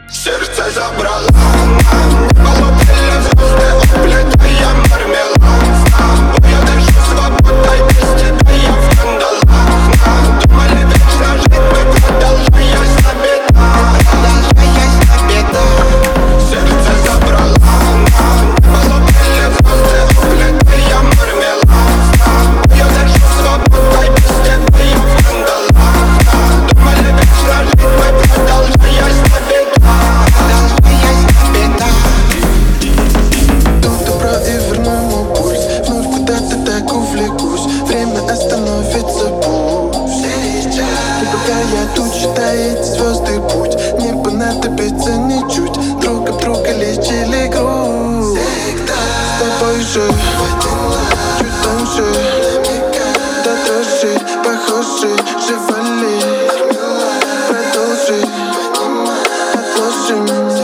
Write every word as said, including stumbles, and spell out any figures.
Сердце забрала она, полупели звезды, уплетая мармелад. Я дышу свободой, без тебя я в кандалах. Думали вечно жить мы, продолжаясь на беда, продолжаясь на беда. Сердце забрала она, полупели звезды, уплетая мармелад. Я дышу свободой, без тебя я в кандалах. Думали вечно жить мы, продолжаясь на беда. Я тут считаю эти звезды путь. Не понадобится ничуть. Друг об друга лечили грусть. С тобой же чуть тоньше, до дрожи похожи, живали. Продолжи, отложим.